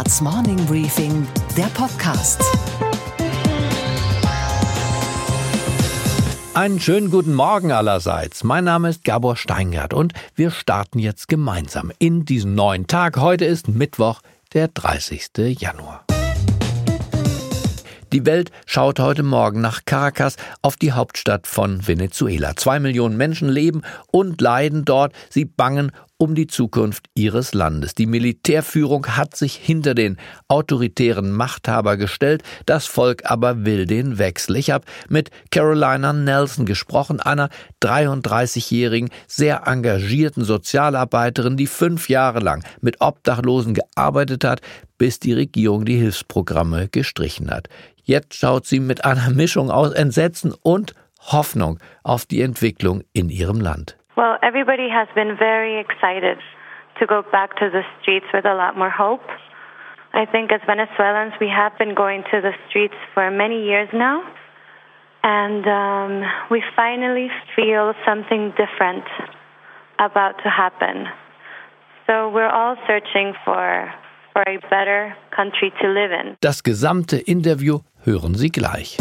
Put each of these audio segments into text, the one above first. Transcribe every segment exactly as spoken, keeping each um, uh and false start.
Handelsblatts Morning Briefing, der Podcast. Einen schönen guten Morgen allerseits. Mein Name ist Gabor Steingart und wir starten jetzt gemeinsam in diesen neuen Tag. Heute ist Mittwoch, der dreißigsten Januar. Die Welt schaut heute Morgen nach Caracas, auf die Hauptstadt von Venezuela. Zwei Millionen Menschen leben und leiden dort. Sie bangen um die Zukunft ihres Landes. Die Militärführung hat sich hinter den autoritären Machthaber gestellt. Das Volk aber will den Wechsel. Ich habe mit Carolina Nelson gesprochen, einer dreiunddreißigjährigen, sehr engagierten Sozialarbeiterin, die fünf Jahre lang mit Obdachlosen gearbeitet hat, bis die Regierung die Hilfsprogramme gestrichen hat. Jetzt schaut sie mit einer Mischung aus Entsetzen und Hoffnung auf die Entwicklung in ihrem Land. Well, everybody has been very excited to go back to the streets with a lot more hope. I think as Venezuelans we have been going to the streets for many years now, and um, we finally feel something different about to happen. So we're all searching for for a better country to live in. Das gesamte Interview hören Sie gleich.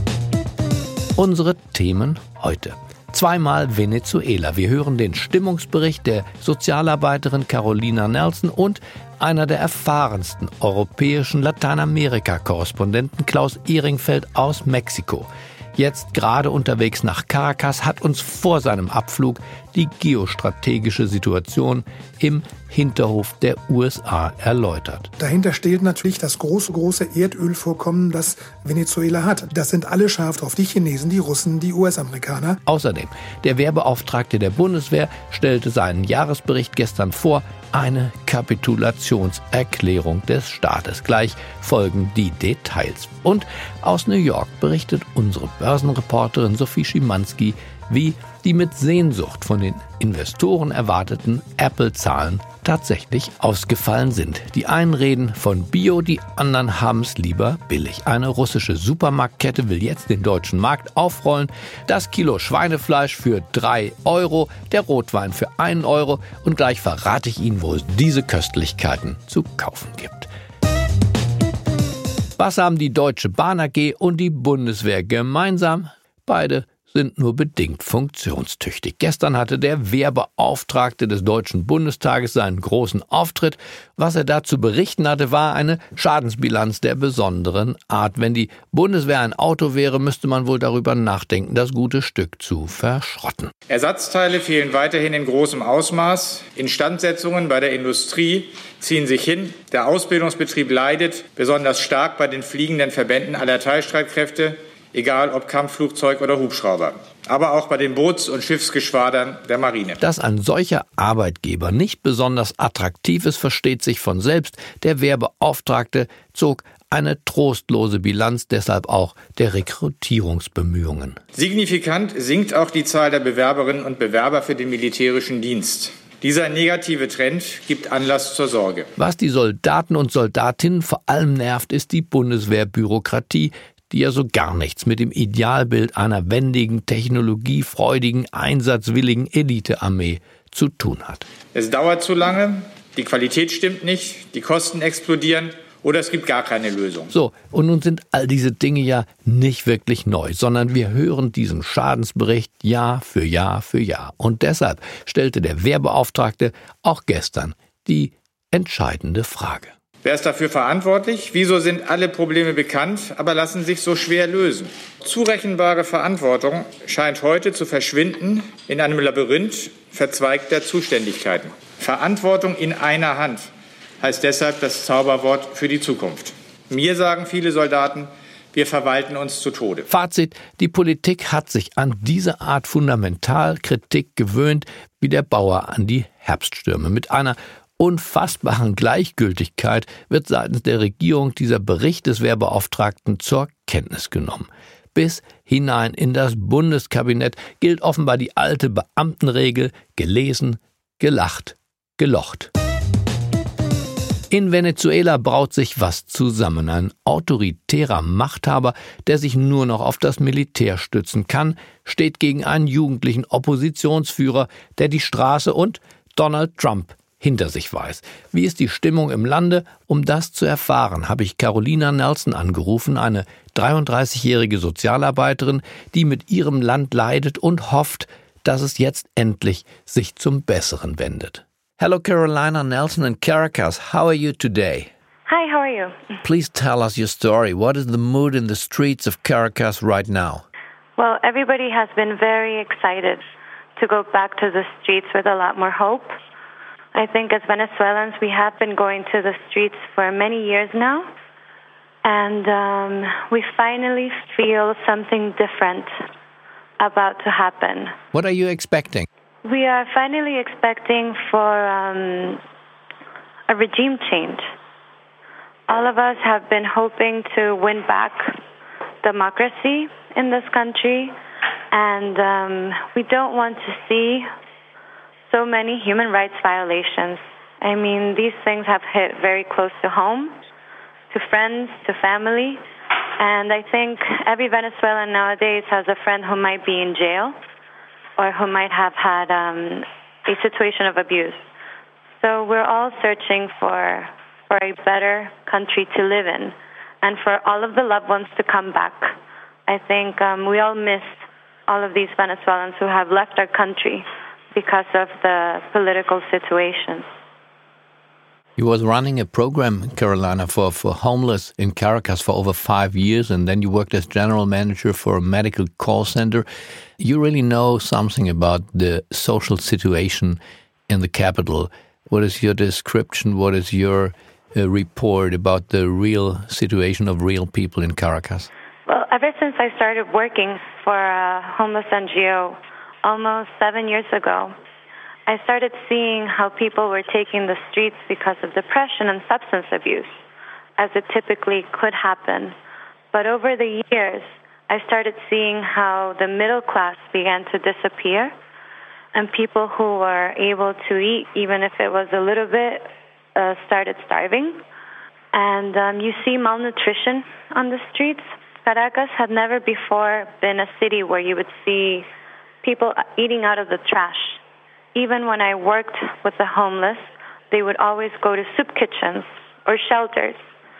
Unsere Themen heute. Zweimal Venezuela. Wir hören den Stimmungsbericht der Sozialarbeiterin Carolina Nelson und einer der erfahrensten europäischen Lateinamerika-Korrespondenten Klaus Ehringfeld aus Mexiko. Jetzt gerade unterwegs nach Caracas, hat uns vor seinem Abflug die geostrategische Situation im Hinterhof der U S A erläutert. Dahinter steht natürlich das große, große Erdölvorkommen, das Venezuela hat. Das sind alle scharf drauf, die Chinesen, die Russen, die U S-Amerikaner. Außerdem, der Wehrbeauftragte der Bundeswehr stellte seinen Jahresbericht gestern vor, eine Kapitulationserklärung des Staates. Gleich folgen die Details. Und aus New York berichtet unsere Börsenreporterin Sophie Schimanski, wie die mit Sehnsucht von den Investoren erwarteten Apple-Zahlen tatsächlich ausgefallen sind. Die einen reden von Bio, die anderen haben es lieber billig. Eine russische Supermarktkette will jetzt den deutschen Markt aufrollen. Das Kilo Schweinefleisch für drei Euro, der Rotwein für einen Euro. Und gleich verrate ich Ihnen, wo es diese Köstlichkeiten zu kaufen gibt. Was haben die Deutsche Bahn A G und die Bundeswehr gemeinsam? Beide sind nur bedingt funktionstüchtig. Gestern hatte der Wehrbeauftragte des Deutschen Bundestages seinen großen Auftritt. Was er da zu berichten hatte, war eine Schadensbilanz der besonderen Art. Wenn die Bundeswehr ein Auto wäre, müsste man wohl darüber nachdenken, das gute Stück zu verschrotten. Ersatzteile fehlen weiterhin in großem Ausmaß. Instandsetzungen bei der Industrie ziehen sich hin. Der Ausbildungsbetrieb leidet, besonders stark bei den fliegenden Verbänden aller Teilstreitkräfte, egal ob Kampfflugzeug oder Hubschrauber, aber auch bei den Boots- und Schiffsgeschwadern der Marine. Dass ein solcher Arbeitgeber nicht besonders attraktiv ist, versteht sich von selbst. Der Wehrbeauftragte zog eine trostlose Bilanz, deshalb auch der Rekrutierungsbemühungen. Signifikant sinkt auch die Zahl der Bewerberinnen und Bewerber für den militärischen Dienst. Dieser negative Trend gibt Anlass zur Sorge. Was die Soldaten und Soldatinnen vor allem nervt, ist die Bundeswehrbürokratie, die ja so gar nichts mit dem Idealbild einer wendigen, technologiefreudigen, einsatzwilligen Elitearmee zu tun hat. Es dauert zu lange, die Qualität stimmt nicht, die Kosten explodieren oder es gibt gar keine Lösung. So, und nun sind all diese Dinge ja nicht wirklich neu, sondern wir hören diesen Schadensbericht Jahr für Jahr für Jahr. Und deshalb stellte der Wehrbeauftragte auch gestern die entscheidende Frage. Wer ist dafür verantwortlich? Wieso sind alle Probleme bekannt, aber lassen sich so schwer lösen? Zurechenbare Verantwortung scheint heute zu verschwinden in einem Labyrinth verzweigter Zuständigkeiten. Verantwortung in einer Hand heißt deshalb das Zauberwort für die Zukunft. Mir sagen viele Soldaten, wir verwalten uns zu Tode. Fazit: Die Politik hat sich an diese Art Fundamentalkritik gewöhnt, wie der Bauer an die Herbststürme. Mit einer unfassbaren Gleichgültigkeit wird seitens der Regierung dieser Bericht des Wehrbeauftragten zur Kenntnis genommen. Bis hinein in das Bundeskabinett gilt offenbar die alte Beamtenregel: gelesen, gelacht, gelocht. In Venezuela braut sich was zusammen. Ein autoritärer Machthaber, der sich nur noch auf das Militär stützen kann, steht gegen einen jugendlichen Oppositionsführer, der die Straße und Donald Trump hinter sich weiß. Wie ist die Stimmung im Lande? Um das zu erfahren, habe ich Carolina Nelson angerufen, eine dreiunddreißigjährige Sozialarbeiterin, die mit ihrem Land leidet und hofft, dass es jetzt endlich sich zum Besseren wendet. Hello, Carolina Nelson in Caracas. How are you today? Hi, how are you? Please tell us your story. What is the mood in the streets of Caracas right now? Well, everybody has been very excited to go back to the streets with a lot more hope. I think as Venezuelans, we have been going to the streets for many years now, and um, we finally feel something different about to happen. What are you expecting? We are finally expecting for um, a regime change. All of us have been hoping to win back democracy in this country, and um, we don't want to see so many human rights violations. I mean, these things have hit very close to home, to friends, to family, and I think every Venezuelan nowadays has a friend who might be in jail or who might have had um, a situation of abuse. So we're all searching for for a better country to live in and for all of the loved ones to come back. I think um, we all miss all of these Venezuelans who have left our country because of the political situation. You was running a program, Carolina, for, for homeless in Caracas for over five years, and then you worked as general manager for a medical call center. You really know something about the social situation in the capital. What is your description? What is your uh, report about the real situation of real people in Caracas? Well, ever since I started working for a homeless N G O almost seven years ago, I started seeing how people were taking the streets because of depression and substance abuse, as it typically could happen. But over the years, I started seeing how the middle class began to disappear, and people who were able to eat, even if it was a little bit, uh, started starving. And um, you see malnutrition on the streets. Caracas had never before been a city where you would see people eating out of the trash. Even when I worked with the homeless, they would always go to soup kitchens or shelters.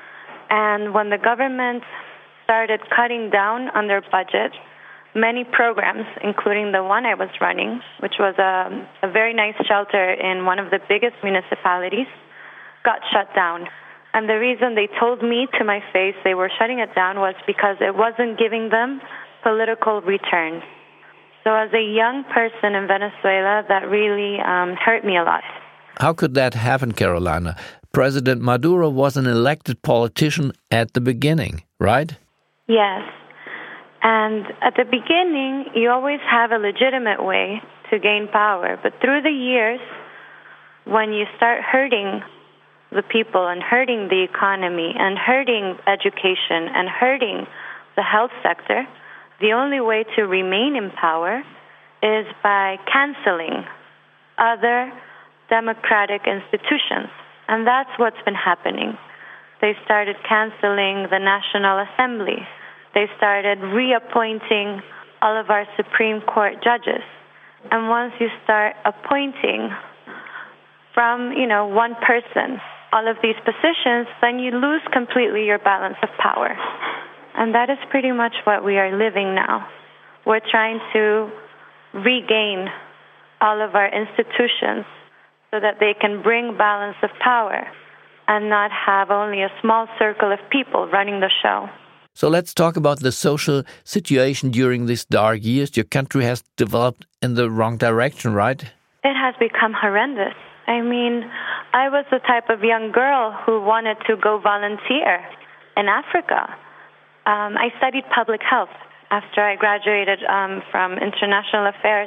And when the government started cutting down on their budget, many programs, including the one I was running, which was a, a very nice shelter in one of the biggest municipalities, got shut down. And the reason they told me to my face they were shutting it down was because it wasn't giving them political return. So as a young person in Venezuela, that really um, hurt me a lot. How could that happen, Carolina? President Maduro was an elected politician at the beginning, right? Yes. And at the beginning, you always have a legitimate way to gain power. But through the years, when you start hurting the people and hurting the economy and hurting education and hurting the health sector, the only way to remain in power is by canceling other democratic institutions. And that's what's been happening. They started canceling the National Assembly. They started reappointing all of our Supreme Court judges. And once you start appointing from, you know, one person all of these positions, then you lose completely your balance of power. And that is pretty much what we are living now. We're trying to regain all of our institutions so that they can bring balance of power and not have only a small circle of people running the show. So let's talk about the social situation during these dark years. Your country has developed in the wrong direction, right? It has become horrendous. I mean, I was the type of young girl who wanted to go volunteer in Africa. Um, I studied public health after I graduated um, from international affairs.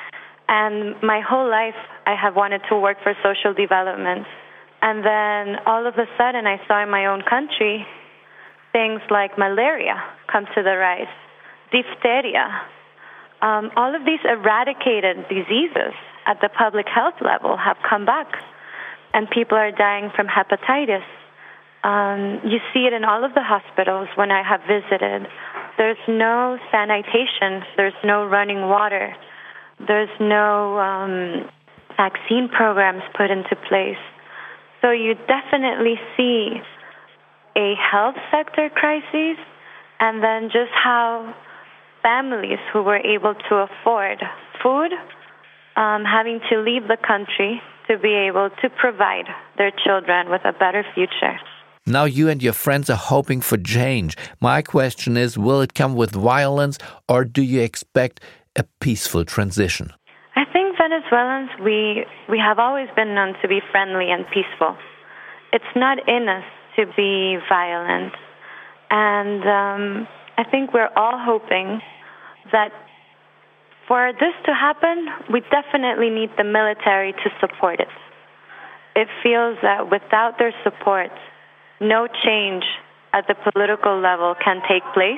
And my whole life, I have wanted to work for social development. And then all of a sudden, I saw in my own country things like malaria come to the rise, diphtheria. Um, all of these eradicated diseases at the public health level have come back. And people are dying from hepatitis. Um, you see it in all of the hospitals when I have visited. There's no sanitation. There's no running water. There's no um, vaccine programs put into place. So you definitely see a health sector crisis, and then just how families who were able to afford food um, having to leave the country to be able to provide their children with a better future. Now you and your friends are hoping for change. My question is, will it come with violence, or do you expect a peaceful transition? I think Venezuelans, we, we have always been known to be friendly and peaceful. It's not in us to be violent. And um, I think we're all hoping that for this to happen, we definitely need the military to support it. It feels that without their support, no change at the political level can take place.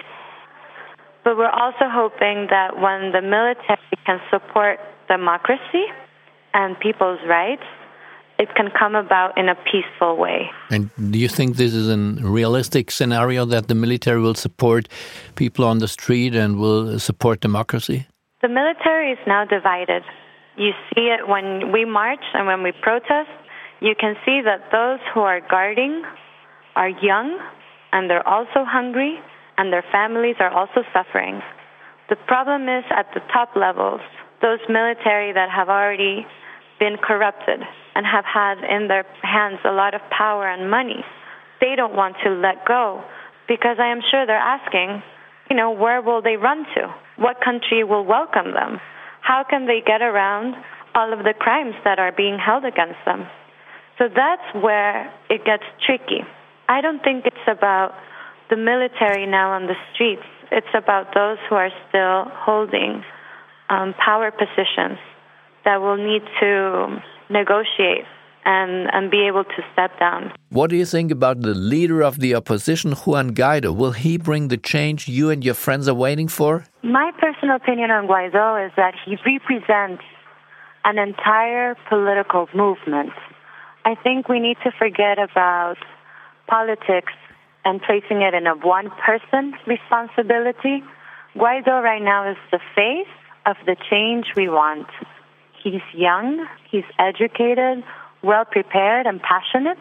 But we're also hoping that when the military can support democracy and people's rights, it can come about in a peaceful way. And do you think this is a realistic scenario, that the military will support people on the street and will support democracy? The military is now divided. You see it when we march and when we protest. You can see that those who are guarding are young, and they're also hungry, and their families are also suffering. The problem is at the top levels, those military that have already been corrupted and have had in their hands a lot of power and money, they don't want to let go, because I am sure they're asking, you know, where will they run to? What country will welcome them? How can they get around all of the crimes that are being held against them? So that's where it gets tricky. I don't think it's about the military now on the streets. It's about those who are still holding um, power positions that will need to negotiate and, and be able to step down. What do you think about the leader of the opposition, Juan Guaido? Will he bring the change you and your friends are waiting for? My personal opinion on Guaido is that he represents an entire political movement. I think we need to forget about politics and placing it in a one-person responsibility. Guaido right now is the face of the change we want. He's young, he's educated, well-prepared and passionate,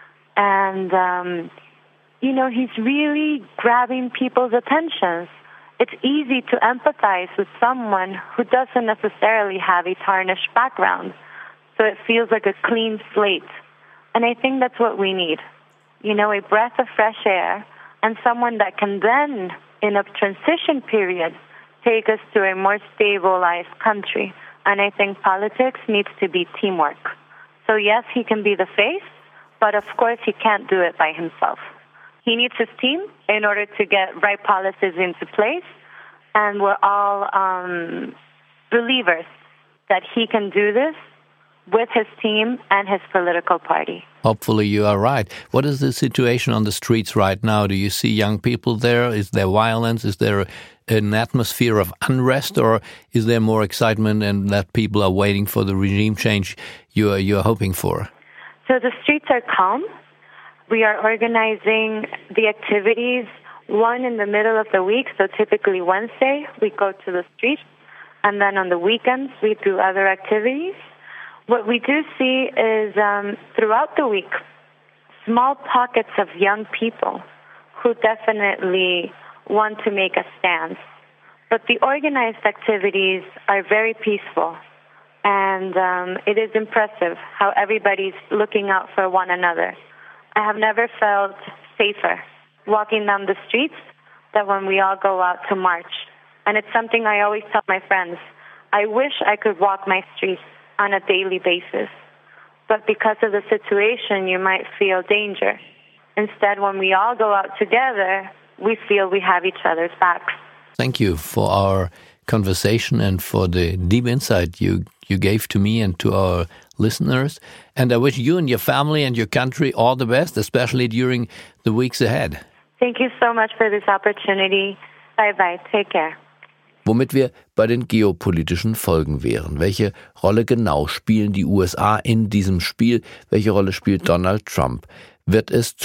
and, um, you know, he's really grabbing people's attentions. It's easy to empathize with someone who doesn't necessarily have a tarnished background, so it feels like a clean slate. And I think that's what we need. You know, a breath of fresh air, and someone that can then, in a transition period, take us to a more stabilized country. And I think politics needs to be teamwork. So yes, he can be the face, but of course he can't do it by himself. He needs his team in order to get right policies into place, and we're all um, believers that he can do this with his team and his political party. Hopefully you are right. What is the situation on the streets right now? Do you see young people there? Is there violence? Is there an atmosphere of unrest, or is there more excitement and that people are waiting for the regime change you are, you are hoping for? So the streets are calm. We are organizing the activities, one in the middle of the week, so typically Wednesday we go to the streets, and then on the weekends we do other activities. What we do see is um, throughout the week, small pockets of young people who definitely want to make a stance. But the organized activities are very peaceful, and um, it is impressive how everybody's looking out for one another. I have never felt safer walking down the streets than when we all go out to march. And it's something I always tell my friends. I wish I could walk my streets on a daily basis. But because of the situation, you might feel danger. Instead, when we all go out together, we feel we have each other's backs. Thank you for our conversation and for the deep insight you, you gave to me and to our listeners. And I wish you and your family and your country all the best, especially during the weeks ahead. Thank you so much for this opportunity. Bye-bye. Take care. Womit wir bei den geopolitischen Folgen wären. Welche Rolle genau spielen die U S A in diesem Spiel? Welche Rolle spielt Donald Trump? Wird es zur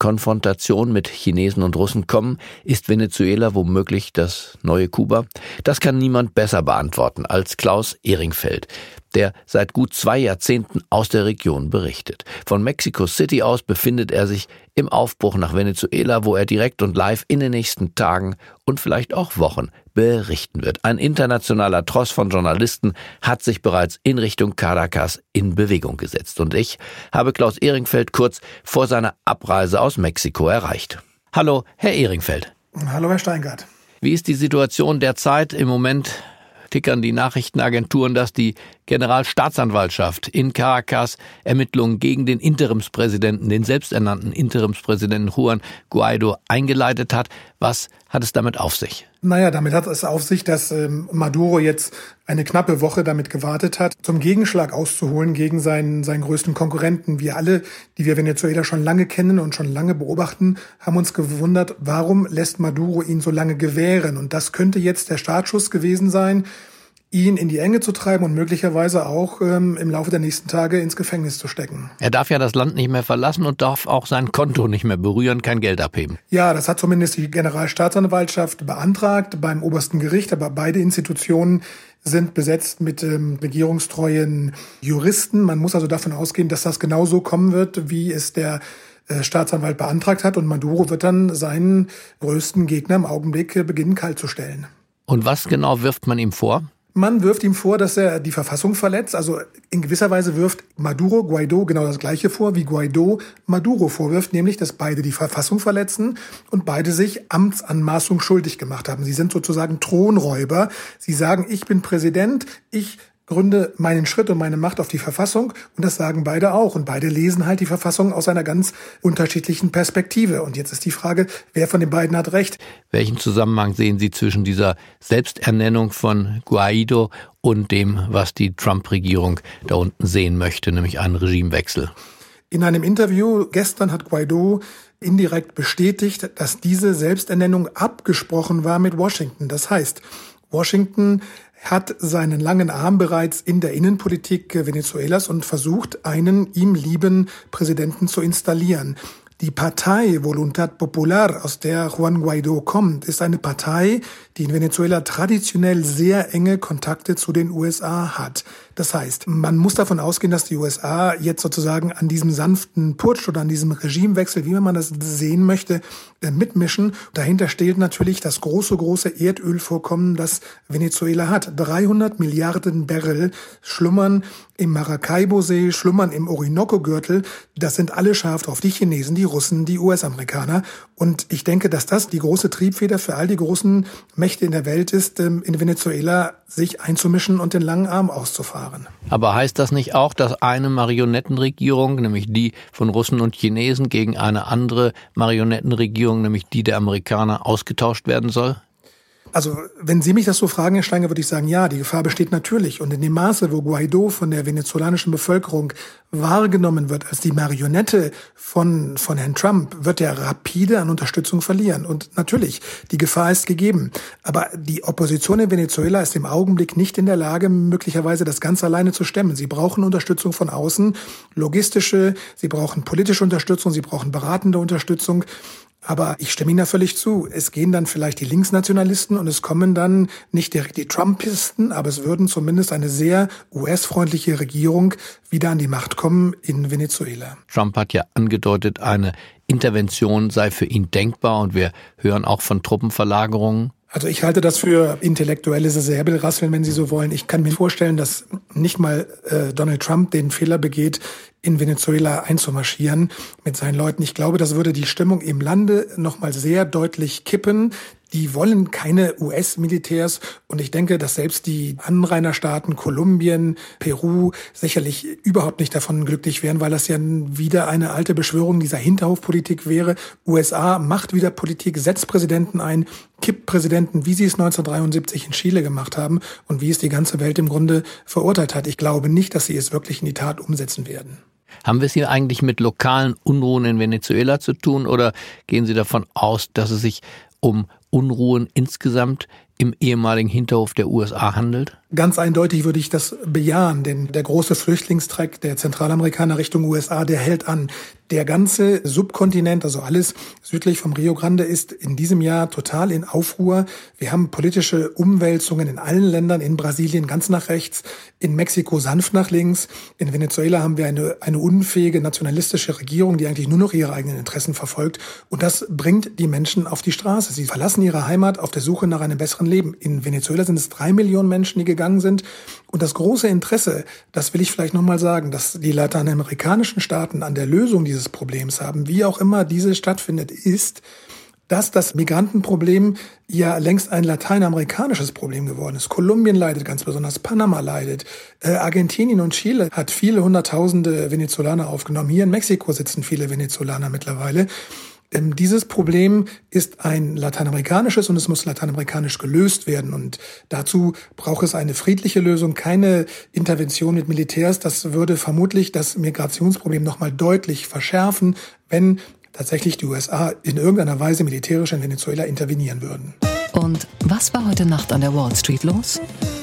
Konfrontation mit Chinesen und Russen kommen? Ist Venezuela womöglich das neue Kuba? Das kann niemand besser beantworten als Klaus Ehringfeld, der seit gut zwei Jahrzehnten aus der Region berichtet. Von Mexico City aus befindet er sich im Aufbruch nach Venezuela, wo er direkt und live in den nächsten Tagen und vielleicht auch Wochen berichten wird. Ein internationaler Tross von Journalisten hat sich bereits in Richtung Caracas in Bewegung gesetzt. Und ich habe Klaus Ehringfeld kurz vor seiner Abreise aus Mexiko erreicht. Hallo, Herr Ehringfeld. Hallo, Herr Steingart. Wie ist die Situation derzeit? Im Moment tickern die Nachrichtenagenturen, dass die Generalstaatsanwaltschaft in Caracas Ermittlungen gegen den Interimspräsidenten, den selbsternannten Interimspräsidenten Juan Guaido eingeleitet hat. Was hat es damit auf sich? Naja, damit hat es auf sich, dass ähm, Maduro jetzt eine knappe Woche damit gewartet hat, zum Gegenschlag auszuholen gegen seinen, seinen größten Konkurrenten. Wir alle, die wir Venezuela schon lange kennen und schon lange beobachten, haben uns gewundert, warum lässt Maduro ihn so lange gewähren? Und das könnte jetzt der Startschuss gewesen sein, ihn in die Enge zu treiben und möglicherweise auch ähm, im Laufe der nächsten Tage ins Gefängnis zu stecken. Er darf ja das Land nicht mehr verlassen und darf auch sein Konto nicht mehr berühren, kein Geld abheben. Ja, das hat zumindest die Generalstaatsanwaltschaft beantragt beim obersten Gericht, aber beide Institutionen sind besetzt mit ähm, regierungstreuen Juristen. Man muss also davon ausgehen, dass das genauso kommen wird, wie es der äh, Staatsanwalt beantragt hat. Und Maduro wird dann seinen größten Gegner im Augenblick äh, beginnen, kalt zu stellen. Und was genau wirft man ihm vor? Man wirft ihm vor, dass er die Verfassung verletzt. Also in gewisser Weise wirft Maduro Guaido genau das Gleiche vor, wie Guaido Maduro vorwirft, nämlich, dass beide die Verfassung verletzen und beide sich Amtsanmaßung schuldig gemacht haben. Sie sind sozusagen Thronräuber. Sie sagen, ich bin Präsident, ich gründe meinen Schritt und meine Macht auf die Verfassung, und das sagen beide auch. Und beide lesen halt die Verfassung aus einer ganz unterschiedlichen Perspektive. Und jetzt ist die Frage, wer von den beiden hat recht? Welchen Zusammenhang sehen Sie zwischen dieser Selbsternennung von Guaido und dem, was die Trump-Regierung da unten sehen möchte, nämlich einen Regimewechsel? In einem Interview gestern hat Guaido indirekt bestätigt, dass diese Selbsternennung abgesprochen war mit Washington. Das heißt, Washington hat seinen langen Arm bereits in der Innenpolitik Venezuelas und versucht, einen ihm lieben Präsidenten zu installieren. Die Partei Voluntad Popular, aus der Juan Guaido kommt, ist eine Partei, die in Venezuela traditionell sehr enge Kontakte zu den U S A hat. Das heißt, man muss davon ausgehen, dass die U S A jetzt sozusagen an diesem sanften Putsch oder an diesem Regimewechsel, wie man das sehen möchte, mitmischen. Dahinter steht natürlich das große, große Erdölvorkommen, das Venezuela hat. dreihundert Milliarden Barrel schlummern im Maracaibo-See, schlummern im Orinoco-Gürtel. Das sind alle scharf drauf. Die Chinesen, die Russen, die U S-Amerikaner. Und ich denke, dass das die große Triebfeder für all die großen Mächte in der Welt ist, in Venezuela sich einzumischen und den langen Arm auszufahren. Aber heißt das nicht auch, dass eine Marionettenregierung, nämlich die von Russen und Chinesen, gegen eine andere Marionettenregierung, nämlich die der Amerikaner, ausgetauscht werden soll? Also, wenn Sie mich das so fragen, Herr Steinger, würde ich sagen, ja, die Gefahr besteht natürlich. Und in dem Maße, wo Guaido von der venezolanischen Bevölkerung wahrgenommen wird als die Marionette von, von Herrn Trump, wird er rapide an Unterstützung verlieren. Und natürlich, die Gefahr ist gegeben. Aber die Opposition in Venezuela ist im Augenblick nicht in der Lage, möglicherweise das ganz alleine zu stemmen. Sie brauchen Unterstützung von außen, logistische, sie brauchen politische Unterstützung, sie brauchen beratende Unterstützung. Aber ich stimme Ihnen da völlig zu. Es gehen dann vielleicht die Linksnationalisten und es kommen dann nicht direkt die Trumpisten, aber es würden zumindest eine sehr U S-freundliche Regierung wieder an die Macht kommen in Venezuela. Trump hat ja angedeutet, eine Intervention sei für ihn denkbar, und wir hören auch von Truppenverlagerungen. Also ich halte das für intellektuelles Säbelrasseln, wenn Sie so wollen. Ich kann mir vorstellen, dass nicht mal äh, Donald Trump den Fehler begeht, in Venezuela einzumarschieren mit seinen Leuten. Ich glaube, das würde die Stimmung im Lande nochmal sehr deutlich kippen. Die wollen keine U S-Militärs, und ich denke, dass selbst die Anrainerstaaten Kolumbien, Peru sicherlich überhaupt nicht davon glücklich wären, weil das ja wieder eine alte Beschwörung dieser Hinterhofpolitik wäre. U S A macht wieder Politik, setzt Präsidenten ein, kippt Präsidenten, wie sie es neunzehnhundertdreiundsiebzig in Chile gemacht haben und wie es die ganze Welt im Grunde verurteilt hat. Ich glaube nicht, dass sie es wirklich in die Tat umsetzen werden. Haben wir es hier eigentlich mit lokalen Unruhen in Venezuela zu tun, oder gehen Sie davon aus, dass es sich um Unruhen insgesamt im ehemaligen Hinterhof der U S A handelt? Ganz eindeutig würde ich das bejahen, denn der große Flüchtlingstreck der Zentralamerikaner Richtung U S A, der hält an. Der ganze Subkontinent, also alles südlich vom Rio Grande, ist in diesem Jahr total in Aufruhr. Wir haben politische Umwälzungen in allen Ländern, in Brasilien ganz nach rechts, in Mexiko sanft nach links. In Venezuela haben wir eine, eine unfähige nationalistische Regierung, die eigentlich nur noch ihre eigenen Interessen verfolgt. Und das bringt die Menschen auf die Straße. Sie verlassen ihre Heimat auf der Suche nach einem besseren Leben. In Venezuela sind es drei Millionen Menschen, die gegangen sind. Und das große Interesse, das will ich vielleicht nochmal sagen, dass die lateinamerikanischen Staaten an der Lösung dieses Problems haben, wie auch immer diese stattfindet, ist, dass das Migrantenproblem ja längst ein lateinamerikanisches Problem geworden ist. Kolumbien leidet ganz besonders, Panama leidet, äh, Argentinien und Chile hat viele hunderttausende Venezolaner aufgenommen. Hier in Mexiko sitzen viele Venezolaner mittlerweile. Ähm, dieses Problem ist ein lateinamerikanisches und es muss lateinamerikanisch gelöst werden. Und dazu braucht es eine friedliche Lösung, keine Intervention mit Militärs. Das würde vermutlich das Migrationsproblem nochmal deutlich verschärfen, wenn tatsächlich die U S A in irgendeiner Weise militärisch in Venezuela intervenieren würden. Und was war heute Nacht an der Wall Street los?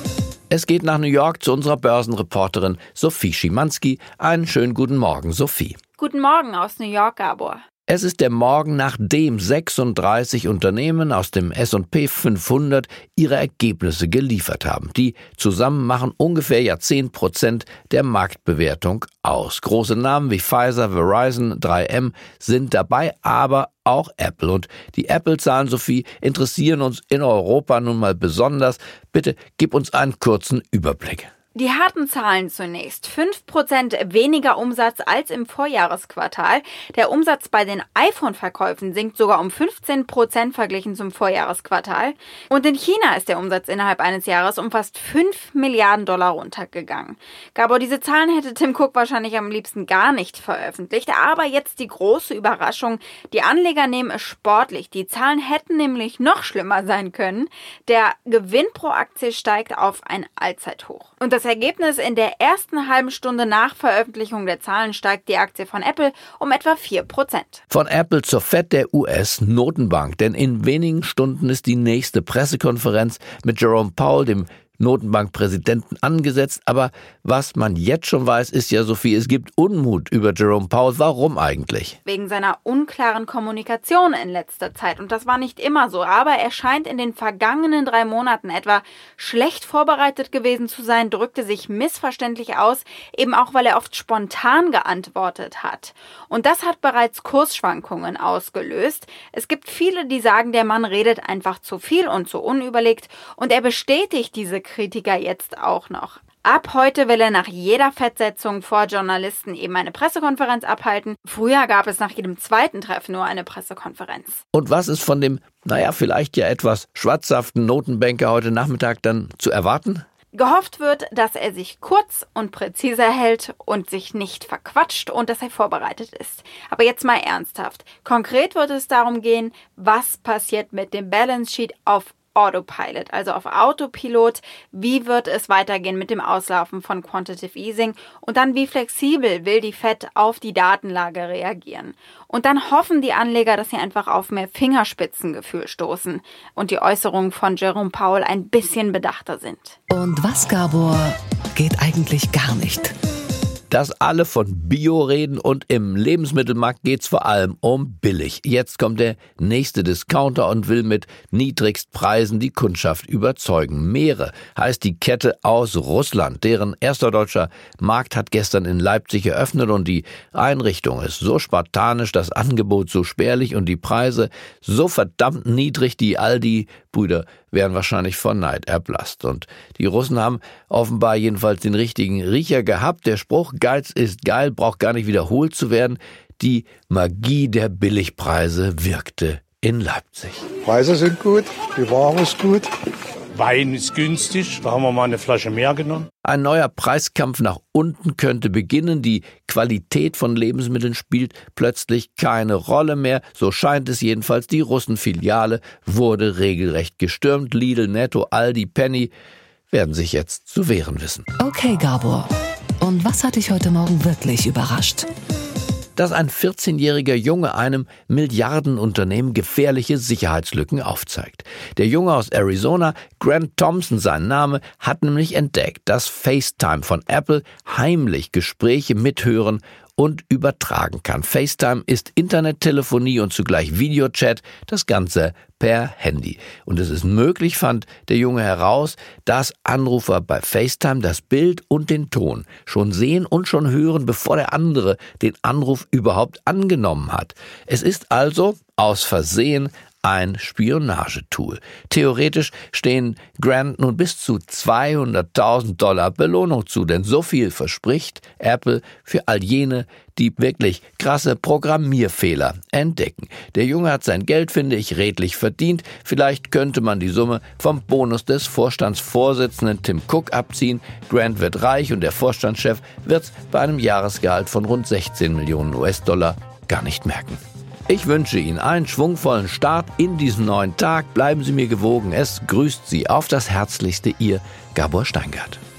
Es geht nach New York zu unserer Börsenreporterin Sophie Schimanski. Einen schönen guten Morgen, Sophie. Guten Morgen aus New York, Gabor. Es ist der Morgen, nachdem sechsunddreißig Unternehmen aus dem S und P fünfhundert ihre Ergebnisse geliefert haben. Die zusammen machen ungefähr ja zehn Prozent der Marktbewertung aus. Große Namen wie Pfizer, Verizon, drei M sind dabei, aber auch Apple. Und die Apple-Zahlen, Sophie, interessieren uns in Europa nun mal besonders. Bitte gib uns einen kurzen Überblick. Die harten Zahlen zunächst. fünf Prozent weniger Umsatz als im Vorjahresquartal. Der Umsatz bei den iPhone-Verkäufen sinkt sogar um fünfzehn Prozent verglichen zum Vorjahresquartal. Und in China ist der Umsatz innerhalb eines Jahres um fast fünf Milliarden Dollar runtergegangen. Gabor, diese Zahlen hätte Tim Cook wahrscheinlich am liebsten gar nicht veröffentlicht. Aber jetzt die große Überraschung. Die Anleger nehmen es sportlich. Die Zahlen hätten nämlich noch schlimmer sein können. Der Gewinn pro Aktie steigt auf ein Allzeithoch. Und das Ergebnis: in der ersten halben Stunde nach Veröffentlichung der Zahlen steigt die Aktie von Apple um etwa vier Prozent. Von Apple zur Fed der U S-Notenbank, denn in wenigen Stunden ist die nächste Pressekonferenz mit Jerome Powell, dem Notenbankpräsidenten, angesetzt. Aber was man jetzt schon weiß, ist ja, Sophie, es gibt Unmut über Jerome Powell. Warum eigentlich? Wegen seiner unklaren Kommunikation in letzter Zeit. Und das war nicht immer so. Aber er scheint in den vergangenen drei Monaten etwa schlecht vorbereitet gewesen zu sein, drückte sich missverständlich aus, eben auch, weil er oft spontan geantwortet hat. Und das hat bereits Kursschwankungen ausgelöst. Es gibt viele, die sagen, der Mann redet einfach zu viel und zu unüberlegt. Und er bestätigt diese Kritiker jetzt auch noch. Ab heute will er nach jeder Fettsetzung vor Journalisten eben eine Pressekonferenz abhalten. Früher gab es nach jedem zweiten Treffen nur eine Pressekonferenz. Und was ist von dem, naja, vielleicht ja etwas schwatzhaften Notenbanker heute Nachmittag dann zu erwarten? Gehofft wird, dass er sich kurz und präziser hält und sich nicht verquatscht und dass er vorbereitet ist. Aber jetzt mal ernsthaft. Konkret wird es darum gehen, was passiert mit dem Balance Sheet auf Autopilot, also auf Autopilot. Wie wird es weitergehen mit dem Auslaufen von Quantitative Easing? Und dann, wie flexibel will die Fed auf die Datenlage reagieren? Und dann hoffen die Anleger, dass sie einfach auf mehr Fingerspitzengefühl stoßen und die Äußerungen von Jerome Powell ein bisschen bedachter sind. Und was, Gabor, geht eigentlich gar nicht? Dass alle von Bio reden und im Lebensmittelmarkt geht's vor allem um billig. Jetzt kommt der nächste Discounter und will mit Niedrigstpreisen die Kundschaft überzeugen. Meere heißt die Kette aus Russland. Deren erster deutscher Markt hat gestern in Leipzig eröffnet und die Einrichtung ist so spartanisch, das Angebot so spärlich und die Preise so verdammt niedrig, die Aldi-Brüder wären wahrscheinlich vor Neid erblasst. Und die Russen haben offenbar jedenfalls den richtigen Riecher gehabt. Der Spruch Geiz ist geil braucht gar nicht wiederholt zu werden. Die Magie der Billigpreise wirkte in Leipzig. Preise sind gut, die Ware ist gut. Wein ist günstig, da haben wir mal eine Flasche mehr genommen. Ein neuer Preiskampf nach unten könnte beginnen. Die Qualität von Lebensmitteln spielt plötzlich keine Rolle mehr. So scheint es jedenfalls. Die Russenfiliale wurde regelrecht gestürmt. Lidl, Netto, Aldi, Penny werden sich jetzt zu wehren wissen. Okay, Gabor. Und was hat dich heute Morgen wirklich überrascht? Dass ein vierzehnjähriger Junge einem Milliardenunternehmen gefährliche Sicherheitslücken aufzeigt. Der Junge aus Arizona, Grant Thompson sein Name, hat nämlich entdeckt, dass FaceTime von Apple heimlich Gespräche mithören und übertragen kann. FaceTime ist Internettelefonie und zugleich Videochat, das Ganze per Handy. Und es ist möglich, fand der Junge heraus, dass Anrufer bei FaceTime das Bild und den Ton schon sehen und schon hören, bevor der andere den Anruf überhaupt angenommen hat. Es ist also aus Versehen ein Spionagetool. Theoretisch stehen Grant nun bis zu zweihunderttausend Dollar Belohnung zu, denn so viel verspricht Apple für all jene, die wirklich krasse Programmierfehler entdecken. Der Junge hat sein Geld, finde ich, redlich verdient. Vielleicht könnte man die Summe vom Bonus des Vorstandsvorsitzenden Tim Cook abziehen. Grant wird reich und der Vorstandschef wird's bei einem Jahresgehalt von rund sechzehn Millionen U S-Dollar gar nicht merken. Ich wünsche Ihnen einen schwungvollen Start in diesen neuen Tag. Bleiben Sie mir gewogen. Es grüßt Sie auf das Herzlichste, Ihr Gabor Steingart.